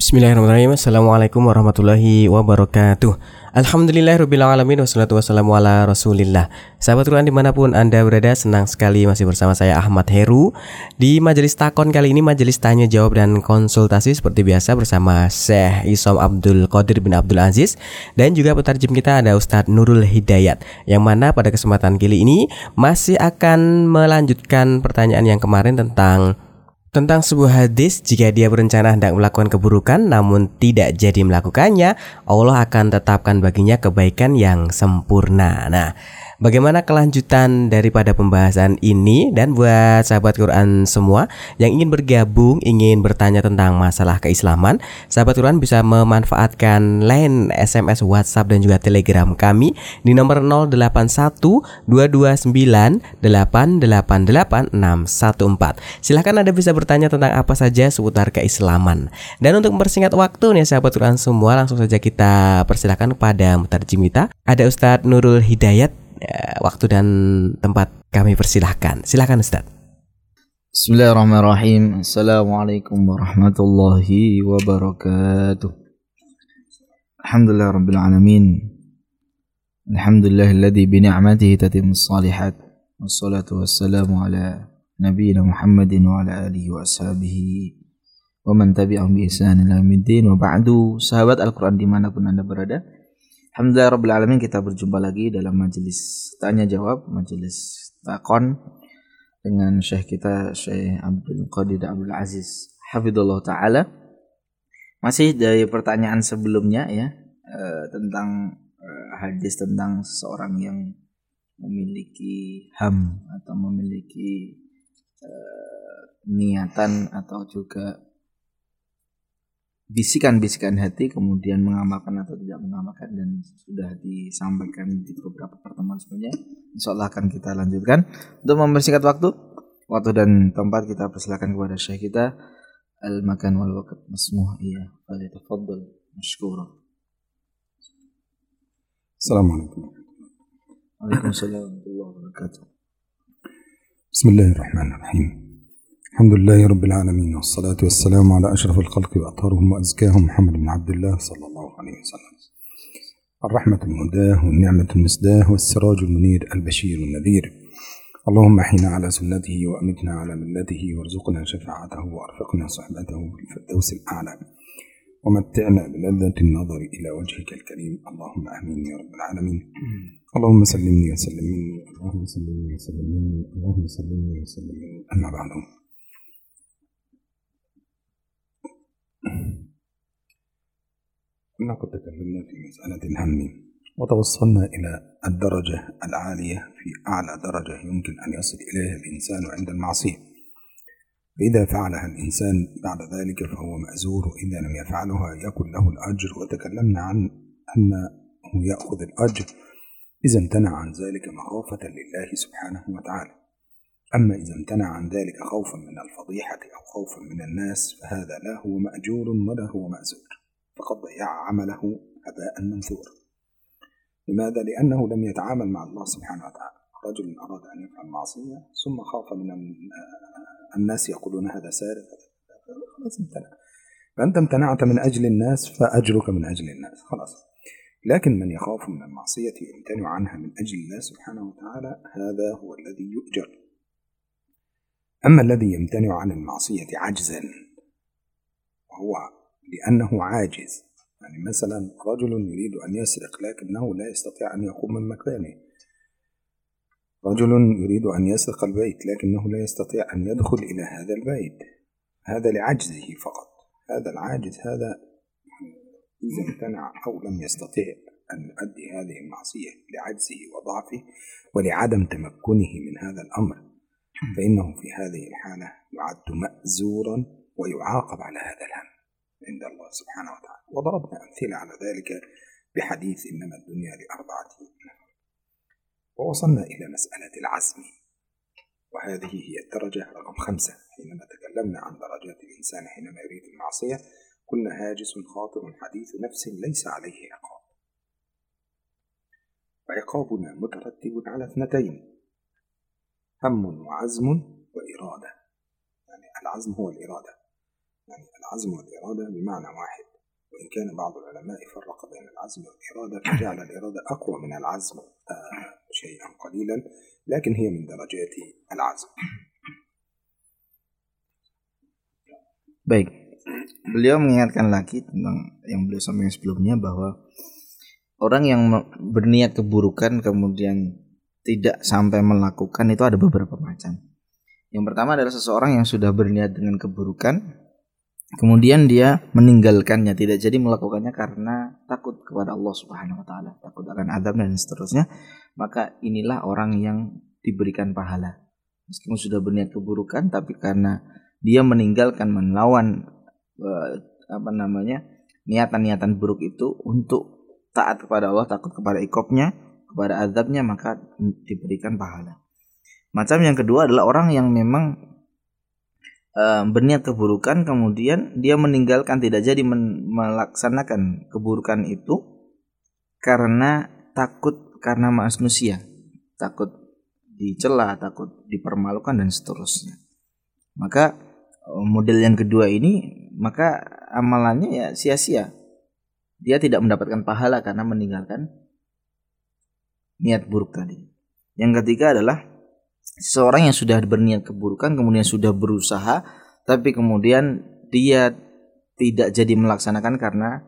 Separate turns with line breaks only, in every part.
Bismillahirrahmanirrahim. Assalamualaikum warahmatullahi wabarakatuh. Alhamdulillahirrabbilalamin. Wassalatu wassalamu ala rasulillah. Sahabat Quran dimanapun Anda berada, senang sekali masih bersama saya Ahmad Heru. Di majelis takon kali ini, majelis tanya jawab dan konsultasi seperti biasa bersama Syekh Isom Abdul Qadir bin Abdul Aziz. Dan juga petarjem kita ada Ustadz Nurul Hidayat, yang mana pada kesempatan kali ini masih akan melanjutkan pertanyaan yang kemarin tentang sebuah hadis. Jika dia berencana hendak melakukan keburukan namun tidak jadi melakukannya, Allah akan tetapkan baginya kebaikan yang sempurna. Nah, bagaimana kelanjutan daripada pembahasan ini? Dan buat sahabat Quran semua yang ingin bergabung, ingin bertanya tentang masalah keislaman, sahabat Quran bisa memanfaatkan line SMS, WhatsApp dan juga Telegram kami di nomor 081229888614. Silahkan Anda bisa bertanya tentang apa saja seputar keislaman. Dan untuk mempersingkat waktu nih sahabat Quran semua, langsung saja kita persilakan kepada mutarjim kita. Ada Ustadz Nurul Hidayat. Waktu dan tempat kami persilahkan. Silakan Ustadz.
Bismillahirrahmanirrahim. Assalamualaikum warahmatullahi wabarakatuh. Alhamdulillahirabbil alamin. Alhamdulillahilladzi bi ni'matihi tatimmus shalihat. Wassalatu wassalamu ala nabiyyina Muhammadin wa ala alihi wa ashabihi wa man tabi'ahum bi ihsan ila yaumiddin. Wa ba'du, sahabat Al-Qur'an dimanapun Anda berada, alhamdulillahirabbil alamin, kita berjumpa lagi dalam majelis tanya jawab, majelis takon dengan Syekh kita Syekh Abdul Qadir Abdul Aziz hafizallahu taala. Masih dari pertanyaan sebelumnya ya, tentang hadis tentang seseorang yang memiliki ham atau memiliki niatan atau juga bisikan-bisikan hati, kemudian mengamalkan atau tidak mengamalkan, dan sudah disampaikan di beberapa pertemuan sebelumnya. Insyaallah akan kita lanjutkan. Untuk mempersingkat waktu dan tempat, kita persilakan kepada Syekh kita al-makan wal waqt masmuh. Iya, falyatafaddal mashkura.
Assalamualaikum.
Waalaikumsalam warahmatullahi wabarakatuh.
Bismillahirrahmanirrahim. Alhamdulillahi rabbil alamin, wassalatu wassalamu ala ashrafil khalqi wa atharuhum wa azkahum Muhammad bin Abdullah sallallahu alaihi wasallam. Ar-rahmatul mudah wa ni'matul misdah wa sirajul munir al-bashir al-nadhir. Allahumma ahina ala sunnatihi wa amitna ala millatihi warzuqna shafa'atahu wa arfiqna suhbatahu bil firdaus al-a'la wa matti'na bi ladhati an-nazar ila wajhika al-karim. Allahumma amin ya rabbil alamin. Allahumma sallimni wa sallimni, Allahumma sallimni wa sallimni, Allahumma sallimni wa sallimni. Amma ba'du. كنا قد تكلمنا في مسألة الهم وتوصلنا إلى الدرجة العالية في أعلى درجة يمكن أن يصل إليها الإنسان عند المعصية، فإذا فعلها الإنسان بعد ذلك فهو مأزور، وإذا لم يفعلها يكن له الأجر. وتكلمنا عن أنه يأخذ الأجر إذا امتنع عن ذلك مخافة لله سبحانه وتعالى. أما إذا امتنع عن ذلك خوفا من الفضيحة أو خوفا من الناس فهذا لا هو مأجور ولا هو مأزور، فقد ضيع عمله هباء منثورا. لماذا؟ لأنه لم يتعامل مع الله سبحانه وتعالى. رجل أراد أن يفعل معصية ثم خاف من الناس يقولون هذا سارق، خلاص امتنع. فأنت امتنعت من أجل الناس فأجرك من أجل الناس، خلاص. لكن من يخاف من المعصية يمتنع عنها من أجل الله سبحانه وتعالى، هذا هو الذي يؤجر. أما الذي يمتنع عن المعصية عجزا، وهو لأنه عاجز، يعني مثلا رجل يريد أن يسرق لكنه لا يستطيع أن يقوم من مكانه، رجل يريد أن يسرق البيت لكنه لا يستطيع أن يدخل إلى هذا البيت، هذا لعجزه فقط. هذا العاجز هذا إذا امتنع أو لم يستطيع أن يؤدي هذه المعصية لعجزه وضعفه ولعدم تمكنه من هذا الأمر، فإنه في هذه الحالة يعد مأزورا ويعاقب على هذا الهم عند الله سبحانه وتعالى. وضربنا أمثلة على ذلك بحديث إنما الدنيا لأربعة نفر. ووصلنا إلى مسألة العزم، وهذه هي الدرجة رقم 5. حينما تكلمنا عن درجات الإنسان حينما يريد المعصية قلنا هاجس خاطر حديث نفس ليس عليه عقاب، وعقابنا مترتب على 2: هم وعزم وإرادة. يعني العزم هو الإرادة، يعني العزم والإرادة بمعنى واحد. وإن كان بعض العلماء فرق بين العزم والإرادة فجعل الإرادة أقوى من العزم شيئا قليلا، لكن هي من درجات العزم.
Baik, beliau mengingatkan lagi tentang yang beliau sampaikan sebelumnya, bahwa orang yang berniat keburukan kemudian tidak sampai melakukan itu ada beberapa macam. Yang pertama adalah seseorang yang sudah berniat dengan keburukan kemudian dia meninggalkannya, tidak jadi melakukannya karena takut kepada Allah Subhanahu wa taala, takut akan azab dan seterusnya, maka inilah orang yang diberikan pahala. Meskipun sudah berniat keburukan, tapi karena dia meninggalkan, melawan niatan-niatan buruk itu untuk taat kepada Allah, takut kepada iqabnya, kepada azabnya, maka diberikan pahala. Macam yang kedua adalah orang yang memang berniat keburukan kemudian dia meninggalkan, tidak jadi melaksanakan keburukan itu karena takut, karena manusia, takut dicela, takut dipermalukan dan seterusnya. Maka model yang kedua ini, maka amalannya ya sia-sia. Dia tidak mendapatkan pahala karena meninggalkan niat buruk tadi. Yang ketiga adalah seorang yang sudah berniat keburukan kemudian sudah berusaha, tapi kemudian dia tidak jadi melaksanakan karena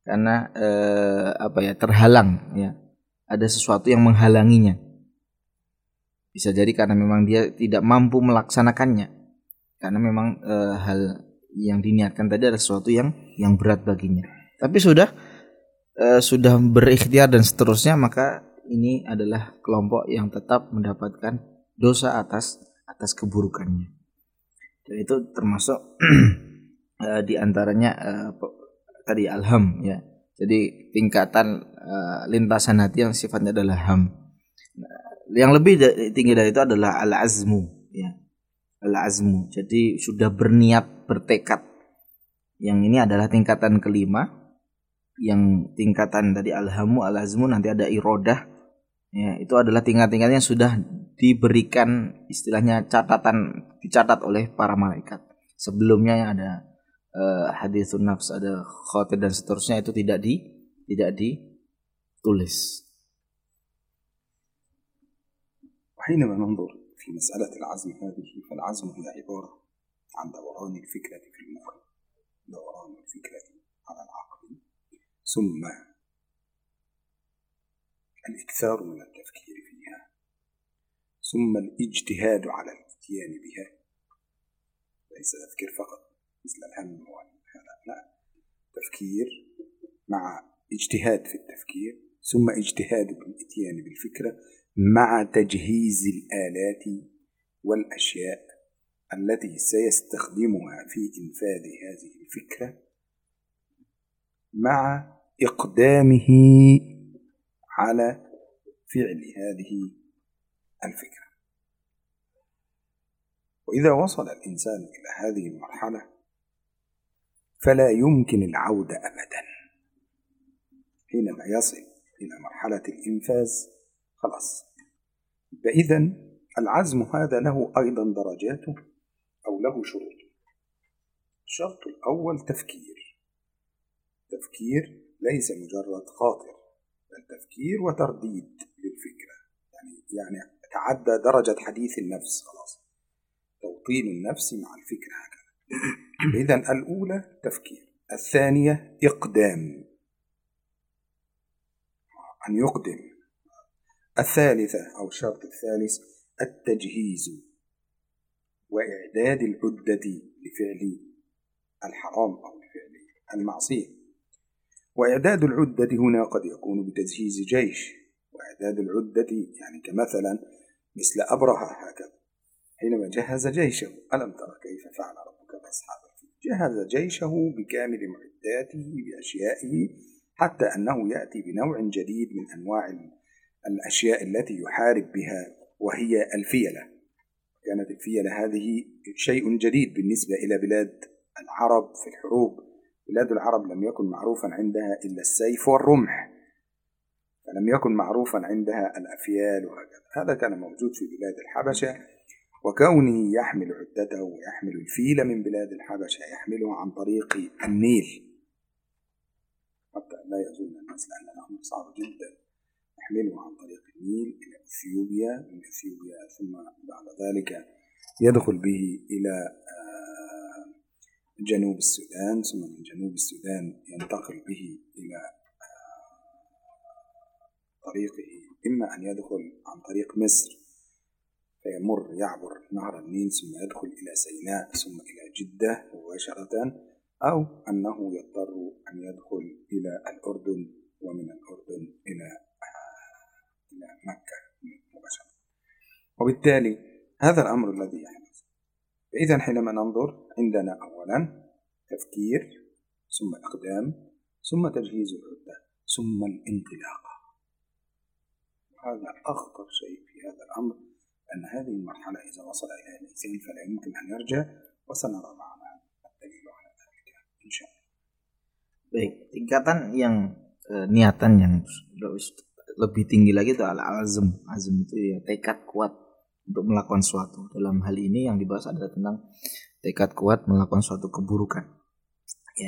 terhalang, ya. Ada sesuatu yang menghalanginya. Bisa jadi karena memang dia tidak mampu melaksanakannya, karena memang hal yang diniatkan tadi adalah sesuatu yang berat baginya. Tapi sudah berikhtiar dan seterusnya, maka ini adalah kelompok yang tetap mendapatkan dosa atas keburukannya. Dan itu termasuk di antaranya tadi alham, ya. Jadi tingkatan lintasan hati yang sifatnya adalah ham. Yang lebih tinggi dari itu adalah al-azmu, ya. Al-azmu. Jadi sudah berniat, bertekad. Yang ini adalah tingkatan kelima. Yang tingkatan tadi alhamu, al-azmu, nanti ada irodah. Ya, itu adalah tingkat-tingkatnya yang sudah diberikan istilahnya dicatat oleh para malaikat. Sebelumnya yang ada haditsun nafs, ada khatir dan seterusnya, itu tidak ditulis.
وحينما ننظر في مسألة العزم هذه، فالعزم هي عبارة عن دوران الفكرة في المخ، دوران الفكرة على العقل، ثم الإكثار من التفكير فيها، ثم الاجتهاد على الاتيان بها. ليس تفكير فقط مثل الهم والهذا، لا، تفكير مع اجتهاد في التفكير، ثم اجتهاد بالاتيان بالفكرة مع تجهيز الآلات والأشياء التي سيستخدمها في إنفاذ هذه الفكرة، مع إقدامه على فعل هذه الفكرة. وإذا وصل الإنسان إلى هذه المرحلة فلا يمكن العودة أبدا. حينما يصل إلى مرحلة الإنفاذ خلاص. فإذا العزم هذا له أيضا درجاته أو له شروط. الشرط الأول تفكير ليس مجرد خاطر، بل تفكير وترديد للفكرة، يعني تعدى درجة حديث النفس، خلاص، توطين النفس مع الفكرة هكذا. إذن الأولى تفكير، الثانية إقدام، أن يقدم، الثالثة أو الشرط الثالث التجهيز وإعداد العدة لفعل الحرام أو لفعل المعصية. وإعداد العدة هنا قد يكون بتجهيز جيش، وإعداد العدة يعني كمثلا مثل أبرهة هكذا، حينما جهز جيشه، ألم ترى كيف فعل ربك بأصحاب الفيل؟ جهز جيشه بكامل معداته بأشيائه، حتى أنه يأتي بنوع جديد من أنواع الأشياء التي يحارب بها، وهي الفيلة. كانت الفيلة هذه شيء جديد بالنسبة إلى بلاد العرب في الحروب. بلاد العرب لم يكن معروفا عندها إلا السيف والرمح، فلم يكن معروفا عندها الأفيال وهكذا. هذا كان موجود في بلاد الحبشة، وكونه يحمل عدته ويحمل الفيل من بلاد الحبشة يحمله عن طريق النيل، الناس، لأن الأمر صعب جدا. نحمله عن طريق النيل إلى إثيوبيا، من إثيوبيا ثم بعد ذلك يدخل به إلى جنوب السودان، ثم من جنوب السودان ينتقل به إلى طريقه، إما أن يدخل عن طريق مصر فيمر يعبر نهر النيل ثم يدخل إلى سيناء ثم إلى جدة مباشرة، أو أنه يضطر أن يدخل إلى الأردن ومن الأردن إلى مكة مباشرة. وبالتالي هذا الأمر الذي يحدث. فإذا حينما ننظر عندنا أولا تفكير ثم إقدام ثم تجهيز العدة ثم الانطلاقة. وهذا أخطر شيء في هذا الأمر، أن هذه المرحلة إذا وصل إليها الإنسان فلا يمكن أن يرجع، وسنرى معنا الدليل على ذلك إن شاء الله.
Baik, tingkatan yang niatan yang lebih tinggi lagi itu al-azm. Azm itu ya tekad kuat untuk melakukan sesuatu. Dalam hal ini yang dibahas adalah tentang tekad kuat melakukan suatu keburukan. Ya.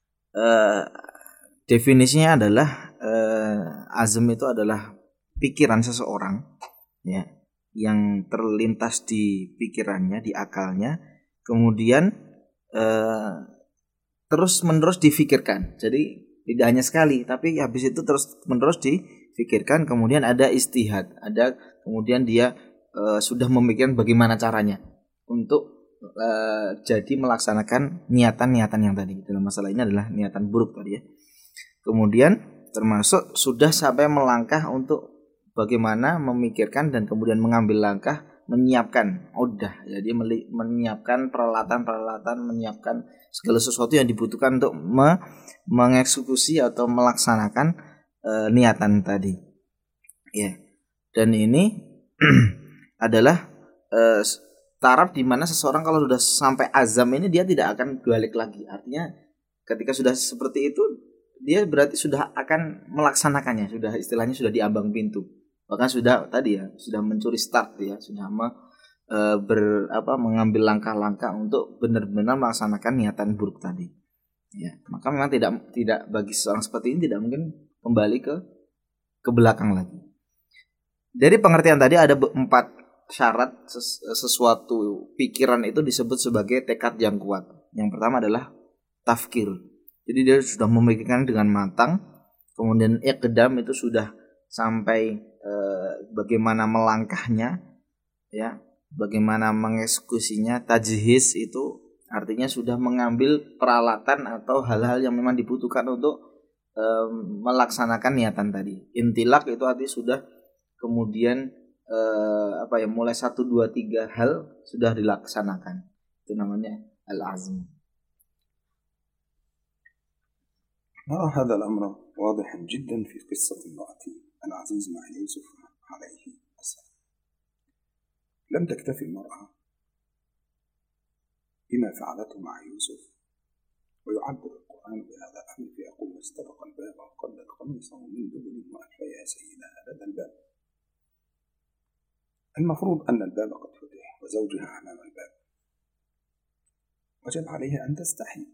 Definisinya adalah azm itu adalah pikiran seseorang, ya, yang terlintas di pikirannya, di akalnya, kemudian terus menerus difikirkan. Jadi tidak hanya sekali, tapi habis itu terus menerus difikirkan. Kemudian ada istihad, ada kemudian dia sudah memikirkan bagaimana caranya untuk jadi melaksanakan niatan-niatan yang tadi. Dalam masalah ini adalah niatan buruk tadi ya. Kemudian termasuk sudah sampai melangkah untuk bagaimana memikirkan dan kemudian mengambil langkah, menyiapkan udah, jadi menyiapkan peralatan-peralatan, menyiapkan segala sesuatu yang dibutuhkan untuk mengeksekusi atau melaksanakan niatan tadi. Ya. Dan ini adalah taraf di mana seseorang kalau sudah sampai azam ini dia tidak akan balik lagi. Artinya ketika sudah seperti itu dia berarti sudah akan melaksanakannya, sudah istilahnya sudah di ambang pintu. Bahkan sudah tadi ya, sudah mencuri start ya, sudah mengambil langkah-langkah untuk benar-benar melaksanakan niatan buruk tadi. Ya, maka memang tidak bagi seorang seperti ini tidak mungkin kembali ke belakang lagi. Dari pengertian tadi ada 4 syarat sesuatu pikiran itu disebut sebagai tekad yang kuat. Yang pertama adalah tafkir. Jadi dia sudah memikirkan dengan matang. Kemudian iqdam itu sudah sampai bagaimana melangkahnya, ya, bagaimana mengeksekusinya. Tajhiz itu artinya sudah mengambil peralatan atau hal-hal yang memang dibutuhkan untuk melaksanakan niatan tadi. Intilak itu artinya sudah kemudian mulai 1, 2, 3 hal sudah dilaksanakan. Itu namanya al-azm.
نرى هذا الأمر واضحا جدا في قصة امرأة العزيز مع يوسف عليه السلام. لم تكتفي المرأة بما فعلته مع يوسف، ويعبر القرآن بهذا الأمر فيقول واستبق الباب وقدت قميصه من دبر وألف يا سيدها لدى الباب. المفروض أن الباب قد فتح وزوجها أمام الباب، وجب عليها أن تستحي،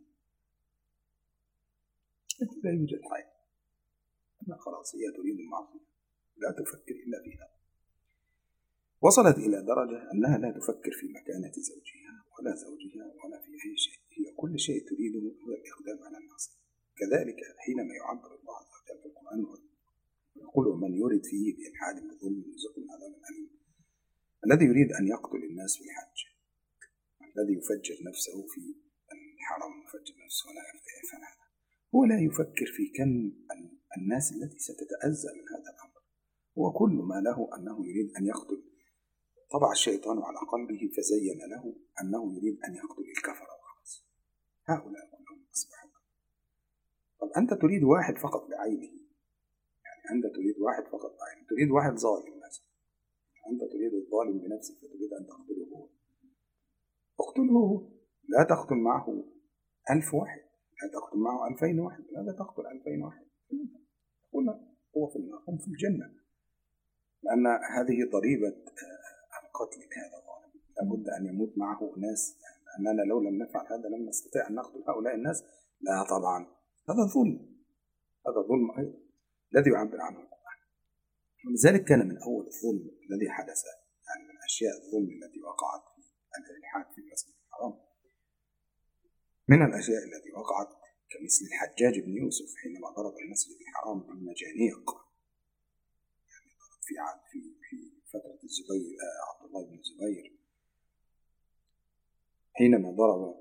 لا يوجد حي، أنها خلاص هي تريد المعصية، لا تفكر إلا فيها. وصلت إلى درجة أنها لا تفكر في مكانة زوجها ولا زوجها ولا في أي شيء، هي كل شيء تريده هو الإقدام على المعصية. كذلك حينما يعبر الله عز وجل في القرآن ويقول من يرد فيه بإلحاد بظلم يرزقه من عذاب أليم، الذي يريد أن يقتل الناس في الحج، الذي يفجر نفسه في الحرم يفجر نفسه ولا يفعل هذا، هو لا يفكر في كم الناس التي ستتأذى من هذا الأمر. هو كل ما له أنه يريد أن يقتل. طبع الشيطان على قلبه فزين له أنه يريد أن يقتل الكفر وخلاص. هؤلاء كلهم أصبحوا. طب أنت تريد واحد فقط بعينه، يعني أنت تريد واحد فقط بعينه، تريد واحد ظالم مثلا، أنت تريد الظالم بنفسك فتريد أن تقتله هو. اقتله هو، لا تقتل معه 1000 واحد، لا تقتل معه 2000 واحد، لا تقتل 2000 واحد. هنا هو في النار هم في الجنة، لأن هذه ضريبة القتل لهذا الظالم. لابد أن يموت معه ناس، لأننا لو لم نفعل هذا لم نستطيع أن نقتل هؤلاء الناس. لا طبعا، هذا ظلم، هذا ظلم أيضا. الذي يعبر عنه القرآن. ولذلك كان من أول الظلم الذي حدث، يعني من أشياء الظلم التي وقعت في الإلحاد في المسجد الحرام، من الأشياء التي وقعت كمثل الحجاج بن يوسف حينما ضرب المسجد الحرام بالمجانيق، يعني ضرب في فترة الزبير عبد الله بن الزبير، حينما ضرب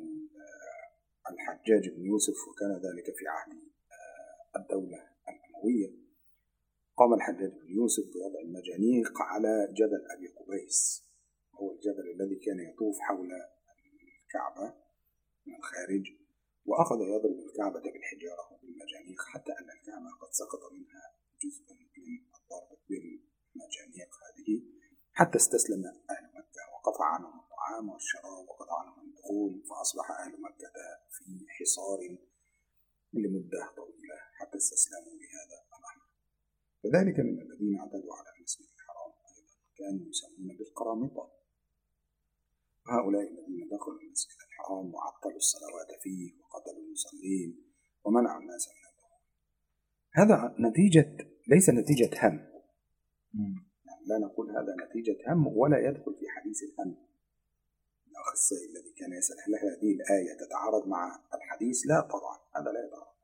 الحجاج بن يوسف، وكان ذلك في عهد الدولة الأموية. قام الحجاج بن يوسف بوضع المجانيق على جبل أبي قبيس، هو الجبل الذي كان يطوف حول الكعبة من الخارج، وأخذ يضرب الكعبة بالحجارة وبالمجانيق حتى أن الكعبة قد سقط منها جزء من الضرب بالمجانيق هذه، حتى استسلم أهل مكة وقطع عنهم الطعام والشراب وقطع عنهم الدخول، فأصبح أهل مكة في حصار لمدة طويلة حتى استسلموا لهذا الأمر. وذلك من الذين اعتدوا على المسجد الحرام أيضا كانوا يسمون بالقرامطة، وهؤلاء الذين دخلوا المسجد الحرام وعطلوا الصلوات فيه وقتلوا المصلين ومنعوا الناس من الدخول. هذا نتيجة، ليس نتيجة هم، يعني لا نقول هذا نتيجة هم ولا يدخل في حديث الهم. الأخ السائل الذي كان يسأل هل هذه الآية تتعارض مع الحديث؟ لا طبعا، هذا لا يتعارض.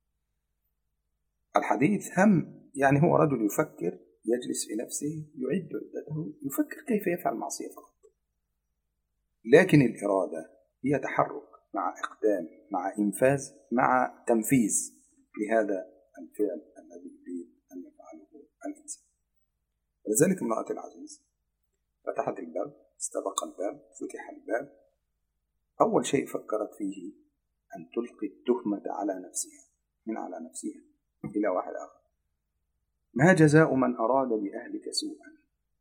الحديث هم، يعني هو رجل يفكر، يجلس في نفسه يعد عدته، يفكر كيف يفعل معصية فقط، لكن الإرادة هي تحرك مع إقدام مع إنفاذ مع تنفيذ لهذا الفعل الذي يريد أن يفعله الإنسان. ولذلك امرأة العزيز فتحت الباب، استبق الباب، فتح الباب، أول شيء فكرت فيه أن تلقي التهمة على نفسها، من على نفسها إلى واحد آخر. ما جزاء من أراد بأهلك سوءا؟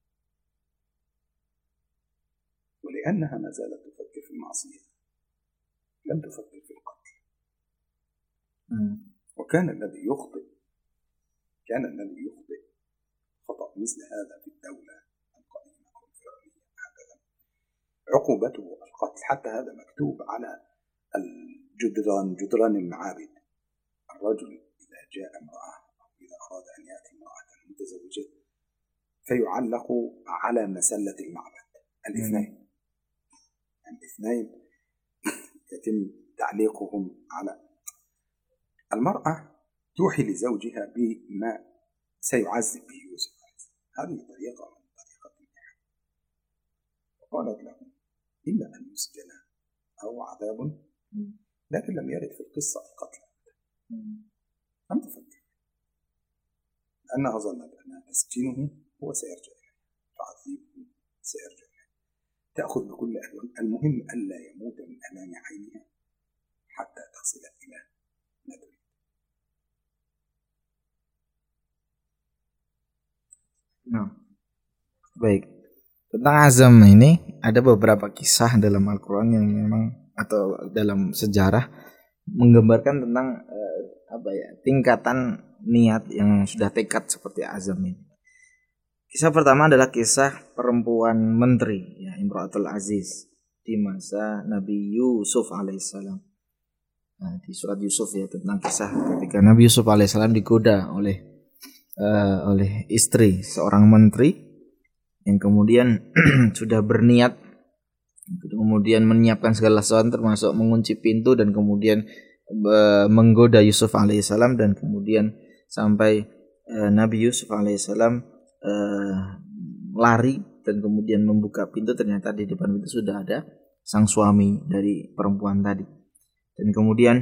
ولأنها ما زالت تفكر في المعصية، لم تفكر في القتل. وكان الذي يخطئ خطأ مثل هذا في الدولة القديمة أو الفرعونية هكذا عقوبته القتل. حتى هذا مكتوب على جدران المعابد. الرجل إذا جاء امرأة أو إذا أراد أن يأتي امرأة متزوجة فيعلق على مسلة المعبد الاثنين، يعني الاثنين يتم تعليقهم على المرأة، توحي لزوجها بما سيعذب به يوسف. هذه طريقة من طريقة النحو. وقالت له إلا أن يسجن أو عذاب، لكن لم يرد في القصة القتل، لم تفكر، لأنها ظنت أنها تسجنه هو سيرجع إليه، تعذبه سيرجع إليه، تأخذ بكل ألوان، المهم ألا يموت من أمام عينها حتى تصل إلى ما تريد.
Baik, tentang azam ini ada beberapa kisah dalam Al-Quran yang memang atau dalam sejarah menggambarkan tentang tingkatan niat yang sudah tekad seperti azam ini. Kisah pertama adalah kisah perempuan menteri, ya, Imratul Aziz di masa Nabi Yusuf alaihissalam. Nah, di surat Yusuf ya, tentang kisah ketika Nabi Yusuf alaihissalam digoda oleh istri seorang menteri yang kemudian sudah berniat, kemudian menyiapkan segala sesuatu termasuk mengunci pintu dan kemudian menggoda Yusuf alaihissalam, dan kemudian sampai Nabi Yusuf alaihissalam lari dan kemudian membuka pintu, ternyata di depan pintu sudah ada sang suami dari perempuan tadi. Dan kemudian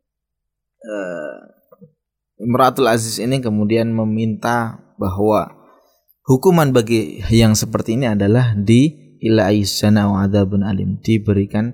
Imratul Aziz ini kemudian meminta bahwa hukuman bagi yang seperti ini adalah diilaisyana wa adzabun alim, diberikan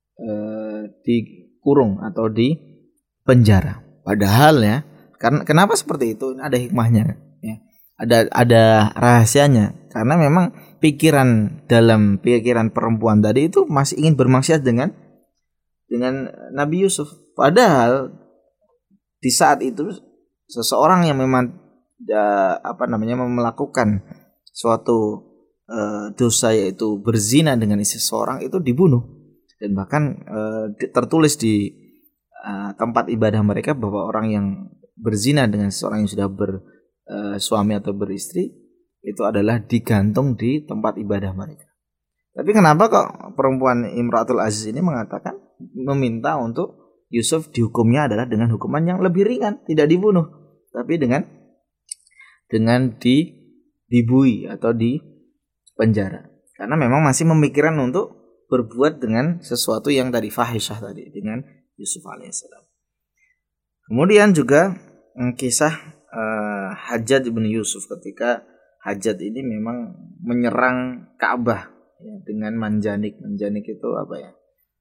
dikurung atau di penjara. Padahal ya, karena kenapa seperti itu? Ada hikmahnya ya. Ada rahasianya, karena memang dalam pikiran perempuan tadi itu masih ingin bermaksiat dengan Nabi Yusuf. Padahal di saat itu seseorang yang memang melakukan suatu dosa, yaitu berzina dengan istri seseorang, itu dibunuh, dan bahkan tertulis di tempat ibadah mereka bahwa orang yang berzina dengan seseorang yang sudah bersuami atau beristri itu adalah digantung di tempat ibadah mereka. Tapi kenapa kok perempuan Imratul Aziz ini mengatakan meminta untuk Yusuf dihukumnya adalah dengan hukuman yang lebih ringan, tidak dibunuh, tapi dengan dibui atau di penjara. Karena memang masih memikirkan untuk berbuat dengan sesuatu yang tadi fahisyah tadi dengan Yusuf alaihissalam. Kemudian juga kisah Hajjaj bin Yusuf ketika Hajjaj ini memang menyerang Ka'bah ya, dengan manjanik. Manjanik itu apa ya?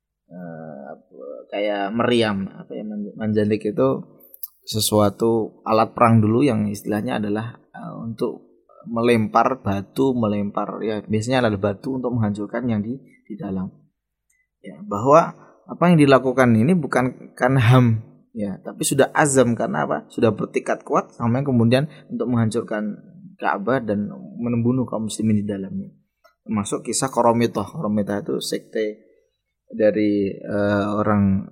Kayak meriam. Manjanik itu sesuatu alat perang dulu yang istilahnya adalah untuk melempar batu, ya biasanya adalah batu untuk menghancurkan yang di dalam. Ya, bahwa apa yang dilakukan ini bukan karena ham ya, tapi sudah azam karena apa? Sudah bertekad kuat sampai kemudian untuk menghancurkan Ka'bah dan membunuh kaum muslimin di dalamnya. Termasuk kisah Qoromitah. Qoromitah itu sekte dari orang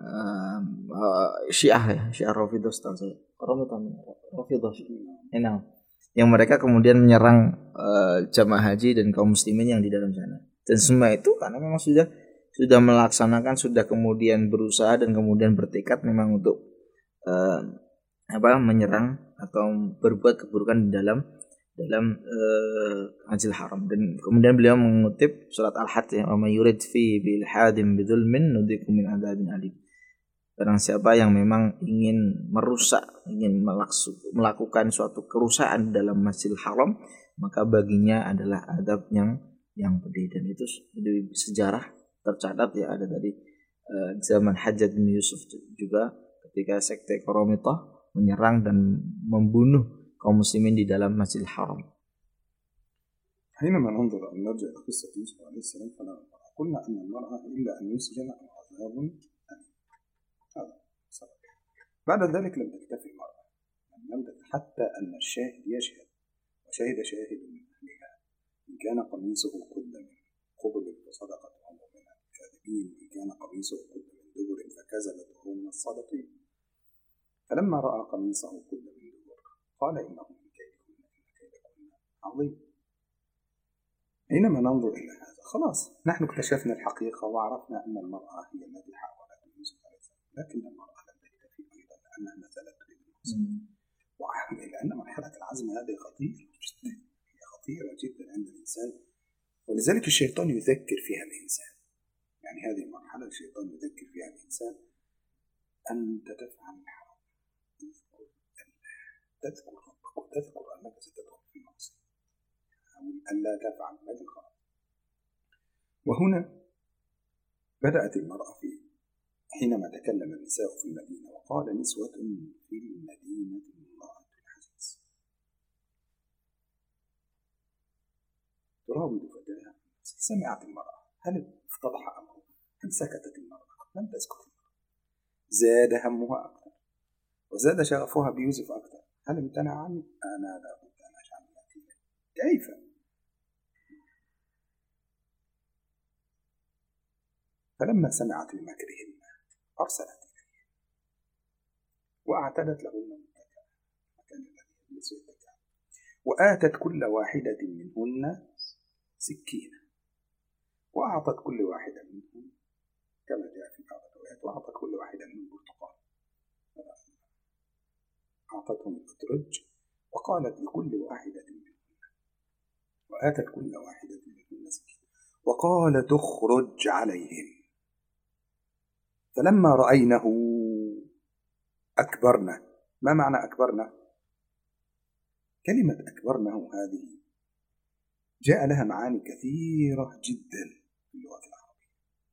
Syiah Rafidhah setahu saya. Qoromitah Rafidhah. Yang mereka kemudian menyerang jamaah haji dan kaum muslimin yang di dalam sana. Dan semua itu karena memang sudah melaksanakan, sudah kemudian berusaha dan kemudian bertekad memang untuk menyerang atau berbuat keburukan di dalam Masjidil Haram. Dan kemudian beliau mengutip surat Al-Hajj, "Wa may yurid fi bil hadim bidzulmin nudzikum min adzabin alim." Barang siapa yang memang ingin merusak, ingin melakukan suatu kerusakan dalam Masjidil Haram, maka baginya adalah adab yang pedih. Dan itu di sejarah tercatat ya, ada dari zaman Hajjaj bin Yusuf juga ketika sekte Qoromitah menyerang dan membunuh kaum muslimin di dalam Masjidil Haram.
حينما ننظر أن نرجع إلى قصة يوسف عليه السلام قلنا أن المرأة إلا أن يسجن أو عذاب أليم. هذا سبب. بعد ذلك لم تكتفي المرأة، حتى أن الشاهد يشهد، وشهد شاهد من أهلها إن كان قميصه قد من قبل فصدقت وهو من الكاذبين، إن كان قميصه قد من دبر فكذبت وهو من الصادقين. فلما رأى قميصه قد من دبر قال إنه من كيدكن إن كيدكن عظيم. حينما ننظر إلى هذا خلاص نحن اكتشفنا الحقيقة وعرفنا أن المرأة هي التي حاولت يوسف عليه السلام، لكن المرأة لم تكتفي أيضا لأنها ما زالت تريد العزم. لأن مرحلة العزم هذه خطيرة جدا، هي خطيرة جدا عند الإنسان، ولذلك الشيطان يذكر فيها الإنسان. يعني هذه المرحلة الشيطان يذكر فيها الإنسان أنت تفعل الحرام، تذكر ربك وتذكر أنك ستدخل في المعصية، أن لا تفعل ما الغلط. وهنا بدأت المرأة حينما تكلم النساء في المدينة وقال نسوة في المدينة امرأة العزيز تراود فتاها. سمعت المرأة، هل افتضح أمره؟ هل سكتت المرأة؟ لم تسكت المرأة، زاد همها أكثر وزاد شغفها بيوسف أكثر. هل امتنع عني؟ أنا لا بد أن أجعل يأتي. كيف؟ فلما سمعت بمكرهن أرسلت إليه وأعتدت لهن متكئا مكان الذي يجلس يتكئ، وآتت كل واحدة منهن سكينة، وأعطت كل واحدة منهم كما جاء في بعض الروايات وأعطت كل واحدة منهم برتقال، أعطتهم الأترج وقالت لكل واحدة منهن، وآتت كل واحدة منهن سكينة وقالت اخرج عليهم. فلما رأينه أكبرنا. ما معنى أكبرنا؟ كلمة أكبرنه هذه جاء لها معاني كثيرة جدا في اللغة العربية.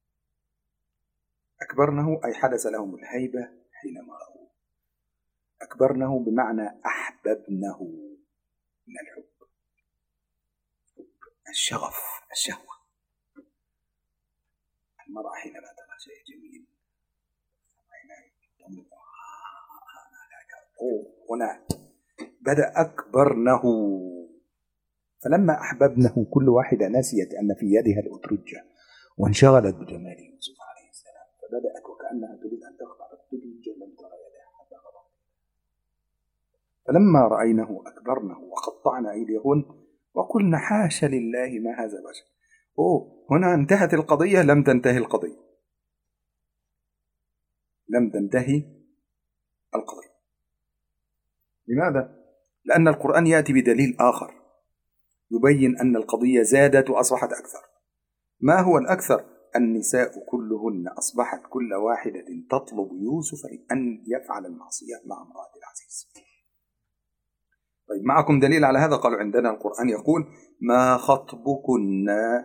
أكبرنه أي حدث لهم الهيبة حينما رأوه. أكبرنه بمعنى أحببنه من الحب، الشغف، الشهوة. المرأة حينما ترى شيء جميل هنا بدأ أكبرنه. فلما أحببنه كل واحدة نسيت أن في يدها الأترجة وانشغلت بجمال يوسف عليه السلام، فبدأت وكأنها تريد أن تخضع الأترجة لم ترى يدها حتى غضبت. فلما رأينه أكبرنه وقطعنا أيديهن وقلنا حاش لله ما هذا بشر. هنا انتهت القضية؟ لم تنتهي القضية، لم تنتهي القضية. لماذا؟ لأن القرآن يأتي بدليل آخر يبين أن القضية زادت وأصبحت أكثر. ما هو الأكثر؟ النساء كلهن أصبحت كل واحدة تطلب يوسف أن يفعل المعصية مع امرأة العزيز. طيب معكم دليل على هذا؟ قالوا عندنا القرآن يقول ما خطبكن.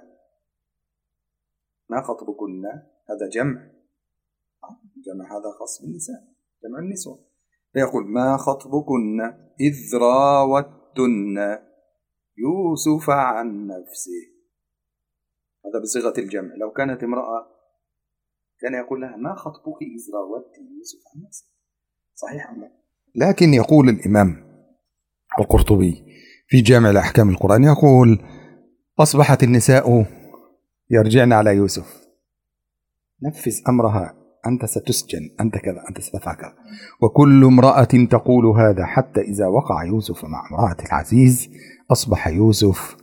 ما خطبكن هذا جمع هذا خاص بالنساء، جمع النسوة. فيقول ما خطبكن إذ راوتن يوسف عن نفسه. هذا بصيغة الجمع. لو كانت امرأة كان يقول لها ما خطبك إذ راوت يوسف عن نفسه، صحيح أم لا؟ لكن يقول الإمام القرطبي في جامع الأحكام القرآن يقول أصبحت النساء يرجعن على يوسف، نفذ أمرها، أنت ستسجن، أنت كذا، أنت ستفعل كذا. وكل امرأة تقول هذا حتى إذا وقع يوسف مع امرأة العزيز أصبح يوسف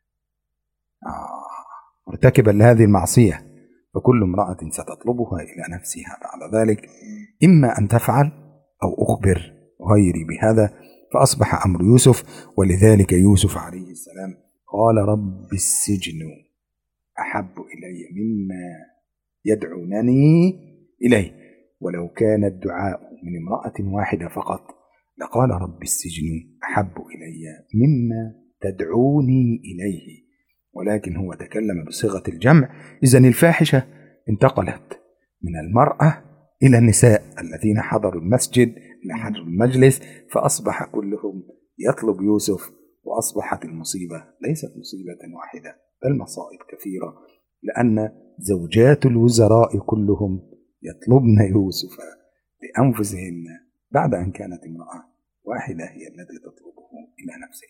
مرتكبا لهذه المعصية، فكل امرأة ستطلبها إلى نفسها بعد ذلك، إما أن تفعل أو أخبر غيري بهذا. فأصبح أمر يوسف. ولذلك يوسف عليه السلام قال رب السجن أحب إلي مما يدعونني إليه. ولو كان الدعاء من امرأة واحدة فقط لقال رب السجن أحب إلي مما تدعوني إليه، ولكن هو تكلم بصيغة الجمع. إذن الفاحشة انتقلت من المرأة إلى النساء الذين حضروا المسجد، إلى حضروا المجلس، فأصبح كلهم يطلب يوسف. وأصبحت المصيبة ليست مصيبة واحدة بل مصائب كثيرة، لأن زوجات الوزراء كلهم يطلبن يوسف لأنفسهن بعد أن كانت امرأة واحدة هي التي تطلبه إلى نفسه.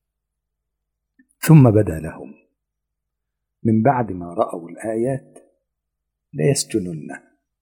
ثم بدا لهم من بعد ما رأوا الآيات ليسجننه.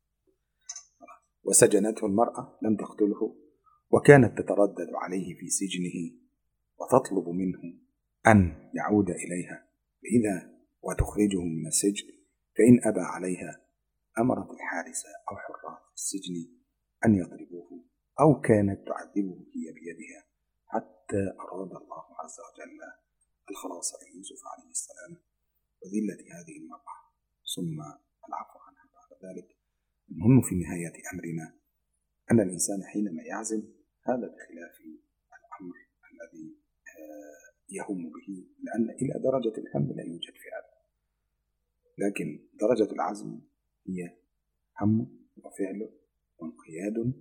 وسجنته المرأة، لم تقتله، وكانت تتردد عليه في سجنه وتطلب منه أن يعود إليها فإذا وتخرجه من السجن. فإن أبى عليها أمرت الحارسة أو حراس السجن أن يضربوه، أو كانت تعذبه هي بيدها، حتى أراد الله عز وجل الخلاص ليوسف عليه السلام وذلة هذه المرأة ثم العفو عنها بعد ذلك. المهم في نهاية أمرنا أن الإنسان حينما يعزم هذا بخلاف الأمر الذي يهم به، لأن إلى درجة الهم لا يوجد في هذا، لكن درجة العزم هي هم وفعل وانقياد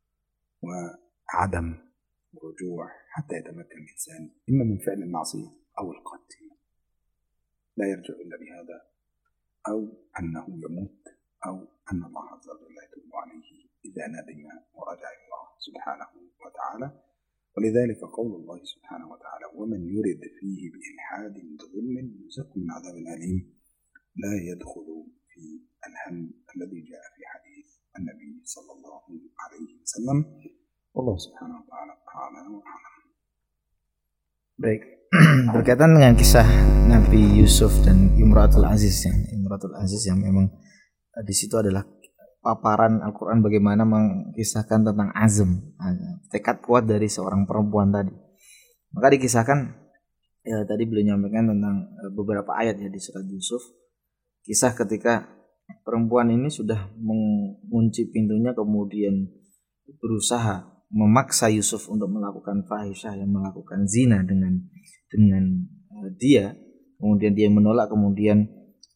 وعدم رجوع حتى يتمكن الإنسان إما من فعل المعصية أو القتل، لا يرجع إلا بهذا، أو أنه يموت، أو أن الله عز وجل يتوب عليه إذا ندم ورجع إلى الله سبحانه وتعالى. ولذلك قول الله سبحانه وتعالى ومن يرد فيه بإلحاد بظلم يذق من عذاب أليم لا يدخل في الهم الذي جاء في حديث النبي صلى الله عليه وسلم. والله سبحانه وتعالى أعلى وأعلم.
Baik, berkaitan dengan kisah Nabi Yusuf dan Imratul Aziz yang memang di situ adalah paparan Al-Quran bagaimana mengisahkan tentang azm, tekad kuat dari seorang perempuan tadi. Maka dikisahkan tadi beliau menyampaikan tentang beberapa ayat ya di surat Yusuf, kisah ketika perempuan ini sudah mengunci pintunya kemudian berusaha memaksa Yusuf untuk melakukan fahisyah, yang melakukan zina dengan dia, kemudian dia menolak, kemudian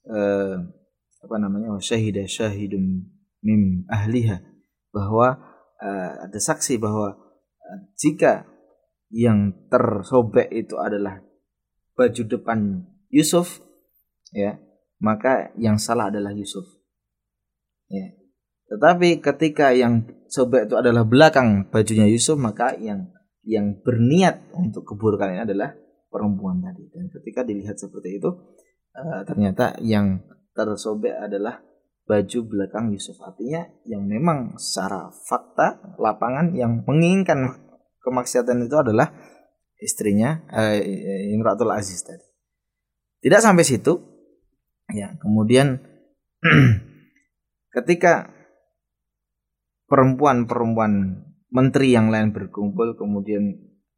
syahidah syahidun mim ahliha, bahwa ada saksi bahwa jika yang tersobek itu adalah baju depan Yusuf, ya, maka yang salah adalah Yusuf, ya. Tetapi ketika yang sobek itu adalah belakang bajunya Yusuf, maka yang berniat untuk keburukan ini adalah perempuan tadi. Dan ketika dilihat seperti itu, ternyata yang tersobek adalah baju belakang Yusuf. Artinya yang memang secara fakta lapangan yang menginginkan kemaksiatan itu adalah istrinya Imratul Aziz tadi. Tidak sampai situ, ya. Kemudian ketika perempuan-perempuan menteri yang lain berkumpul, kemudian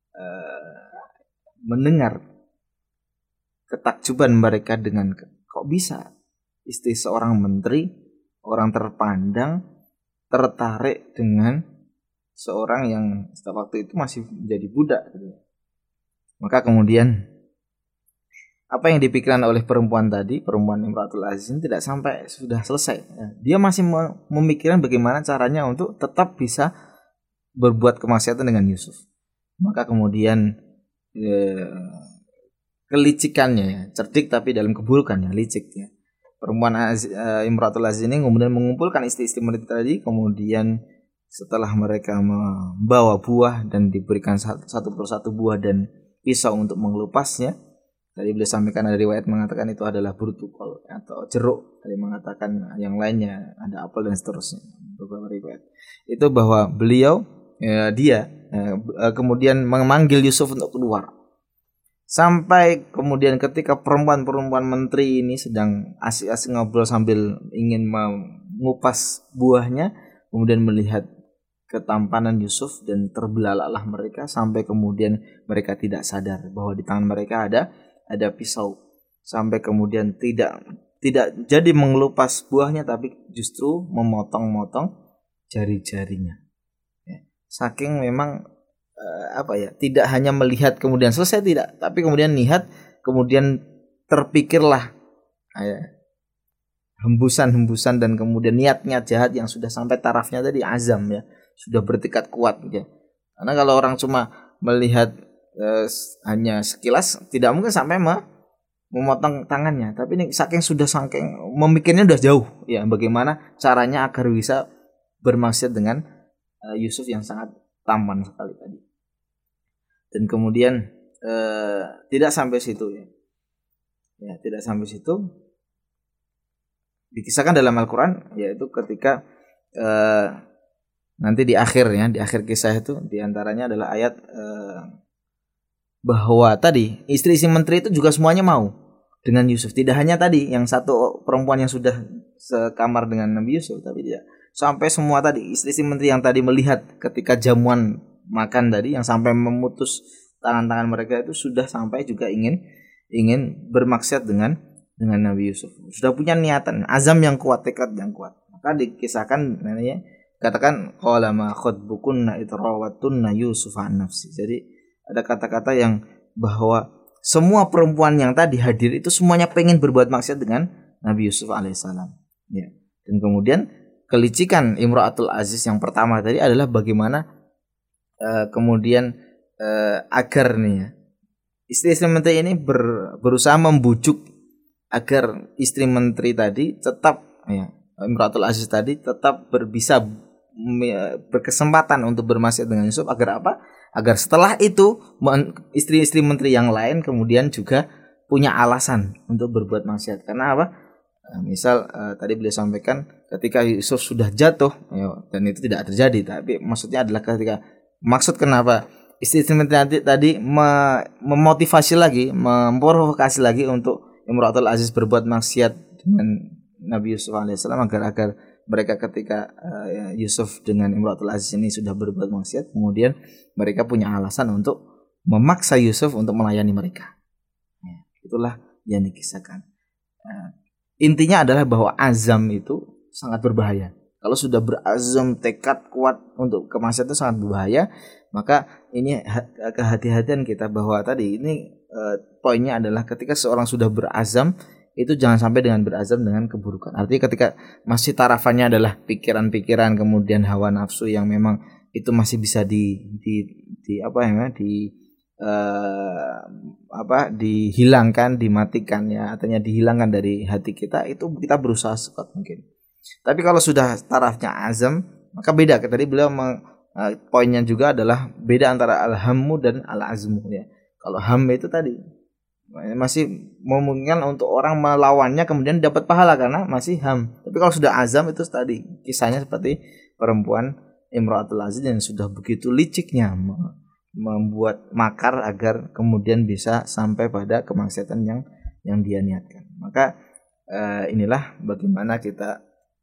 mendengar ketakjuban mereka dengan kok bisa istri seorang menteri, orang terpandang, tertarik dengan seorang yang setiap waktu itu masih menjadi budak gitu. Maka kemudian apa yang dipikirkan oleh perempuan tadi, perempuan Imratul Aziz, tidak sampai sudah selesai. Dia masih memikirkan bagaimana caranya untuk tetap bisa berbuat kemaksiatan dengan Yusuf. Maka kemudian kelicikannya, ya, cerdik tapi dalam keburukannya, licik ya. Perempuan Imratul Aziz ini kemudian mengumpulkan istri-istri mereka tadi, kemudian setelah mereka membawa buah dan diberikan satu persatu buah dan pisau untuk mengelupasnya. Tadi beliau sampaikan ada riwayat mengatakan itu adalah burtukol atau jeruk. Tadi mengatakan yang lainnya ada apel dan seterusnya. Beberapa riwayat. Itu bahwa beliau kemudian memanggil Yusuf untuk keluar. Sampai kemudian ketika perempuan-perempuan menteri ini sedang asik-asik ngobrol sambil ingin mengupas buahnya, kemudian melihat ketampanan Yusuf dan terbelalaklah mereka sampai kemudian mereka tidak sadar bahwa di tangan mereka ada pisau, sampai kemudian tidak jadi mengelupas buahnya tapi justru memotong-motong jari-jarinya. Ya. Saking memang tidak hanya melihat kemudian selesai, tidak, tapi kemudian lihat kemudian terpikirlah hembusan-hembusan dan kemudian niat-niat jahat yang sudah sampai tarafnya tadi azam, ya, sudah bertekad kuat ya. Karena kalau orang cuma melihat hanya sekilas tidak mungkin sampai memotong tangannya, tapi ini saking memikirnya udah jauh ya, bagaimana caranya agar bisa bermaksud dengan Yusuf yang sangat tampan sekali tadi. Dan kemudian tidak sampai situ ya. Ya, tidak sampai situ. Dikisahkan dalam Al-Qur'an yaitu ketika nanti di akhir kisah itu diantaranya adalah ayat bahwa tadi istri-istri menteri itu juga semuanya mau dengan Yusuf. Tidak hanya tadi yang satu perempuan yang sudah sekamar dengan Nabi Yusuf, tapi dia sampai semua tadi istri-istri menteri yang tadi melihat ketika jamuan makan tadi, yang sampai memutus tangan-tangan mereka itu sudah sampai juga ingin bermaksud dengan Nabi Yusuf. Sudah punya niatan, azam yang kuat, tekad yang kuat. Maka dikisahkan katakan qala ma khutbukunna idrawattunna Yusuf an nafsi. Jadi ada kata-kata yang bahwa semua perempuan yang tadi hadir itu semuanya pengen berbuat maksiat dengan Nabi Yusuf alaihissalam. Ya. Dan kemudian kelicikan Imratul Aziz yang pertama tadi adalah bagaimana kemudian agar nih ya, istri-istri menteri ini berusaha membujuk agar istri menteri tadi tetap ya, Imratul Aziz tadi tetap bisa berkesempatan untuk bermaksiat dengan Yusuf. Agar apa? Agar setelah itu istri-istri menteri yang lain kemudian juga punya alasan untuk berbuat maksiat. Karena apa? Misal tadi beliau sampaikan ketika Yusuf sudah jatuh dan itu tidak terjadi, tapi maksudnya adalah ketika kenapa istri-istri menteri tadi memotivasi lagi, memprovokasi lagi untuk Imratul Aziz berbuat maksiat dengan Nabi Yusuf alaihissalam agar mereka ketika Yusuf dengan Imratul Aziz ini sudah berbuat maksiat, kemudian mereka punya alasan untuk memaksa Yusuf untuk melayani mereka. Itulah yang dikisahkan. Intinya adalah bahwa azam itu sangat berbahaya. Kalau sudah berazam, tekad kuat untuk kemaksiatan itu sangat berbahaya. Maka ini kehati-hatian kita bahwa tadi ini poinnya adalah ketika seorang sudah berazam, itu jangan sampai dengan berazam dengan keburukan. Artinya ketika masih tarafannya adalah pikiran-pikiran kemudian hawa nafsu yang memang itu masih bisa dihilangkan, dimatikan ya, artinya dihilangkan dari hati kita, itu kita berusaha sekuat mungkin. Tapi kalau sudah tarafnya azam, maka beda. Tadi beliau poinnya juga adalah beda antara al-hammu dan al-azmu ya. Kalau ham itu tadi masih memungkinkan untuk orang melawannya kemudian dapat pahala karena masih ham. Tapi kalau sudah azam itu tadi kisahnya seperti perempuan Imratul Aziz yang sudah begitu liciknya membuat makar agar kemudian bisa sampai pada kemaksiatan yang dia niatkan. Maka inilah bagaimana kita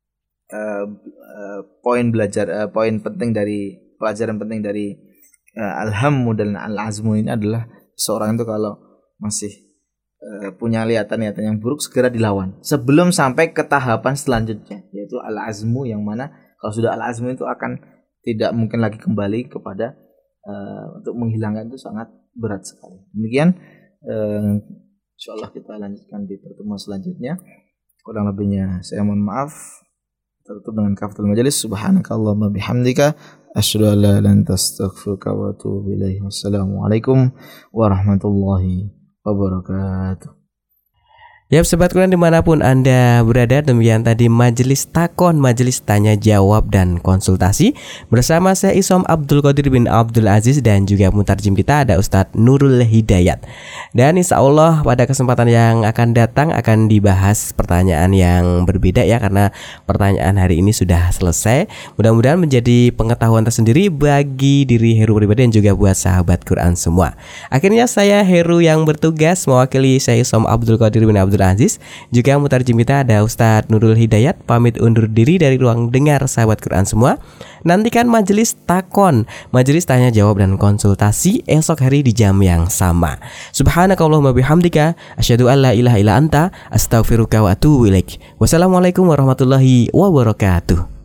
poin penting dari pelajaran penting dari al-hammu dan al-azmu ini adalah seorang itu kalau masih punya niatan yang buruk segera dilawan sebelum sampai ke tahapan selanjutnya, yaitu al-azmu, yang mana kalau sudah al-azmu itu akan tidak mungkin lagi kembali kepada untuk menghilangkan itu sangat berat sekali. Demikian insyaallah kita lanjutkan di pertemuan selanjutnya. Kurang lebihnya saya mohon maaf. Tutup dengan kafaratul majelis. Subhanakallahumma bihamdika asyhadu an la ilaha illa anta astaghfiruka wa atubu ilaik. Wassalamualaikum warahmatullahi wabarakatuh.
Ya, sobat Quran dimanapun Anda berada, demikian tadi majelis takon, majelis tanya jawab dan konsultasi bersama saya Isom Abdul Qadir bin Abdul Aziz, dan juga mutarjim kita ada Ustadz Nurul Hidayat. Dan insya Allah pada kesempatan yang akan datang akan dibahas pertanyaan yang berbeda ya, karena pertanyaan hari ini sudah selesai. Mudah-mudahan menjadi pengetahuan tersendiri bagi diri Heru pribadi dan juga buat sahabat Quran semua. Akhirnya saya Heru yang bertugas mewakili saya Isom Abdul Qadir bin Abdul Aziz, juga mutarjim kita ada Ustadz Nurul Hidayat, pamit undur diri dari ruang dengar sahabat Quran semua. Nantikan majelis takon, majelis tanya jawab dan konsultasi esok hari di jam yang sama. Subhanakallahumma bihamdika asyhadu an la ilaha illa anta astaghfiruka wa atubu ilaik. Wassalamualaikum warahmatullahi wabarakatuh.